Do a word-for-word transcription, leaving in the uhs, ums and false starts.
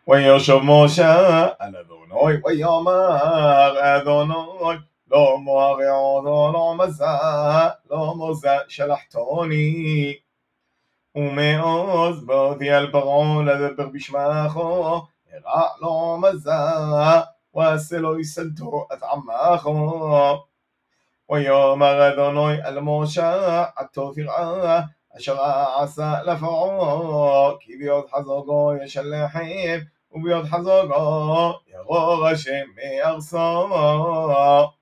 וישוב משה אל אדוני ויאמר אדוני לא מוהר לא מזה לא מזה שלחתוני ומעוז באותי אל פרעה לדבר בשמךו הרע לא מזה ועשה לו יסלתו את עמךו ויאמר אדוני אל משה עתו תראה אשר עשה לפרעה כי ביד חזקו ישלחם וביד חזקו יגור השם מארצו